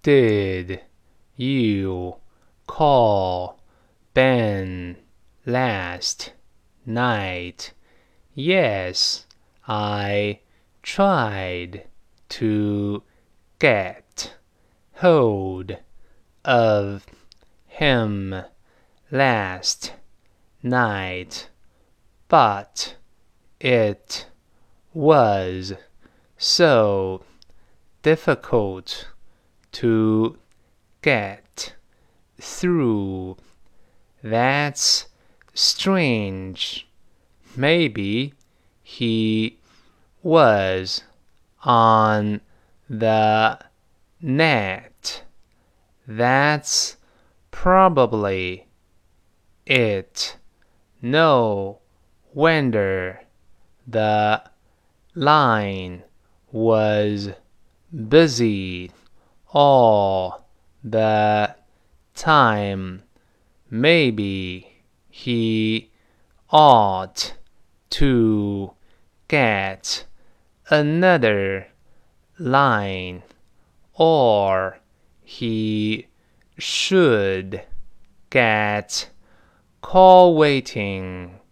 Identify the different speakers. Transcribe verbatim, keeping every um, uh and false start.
Speaker 1: Did you call Ben last night? Yes, I tried to get hold of him last night, but it was so difficult to get through. That's strange. Maybe he was on the net. That's probably it. No wonder the line was busy all the time. Maybe he ought to get another line, or he should get call waiting.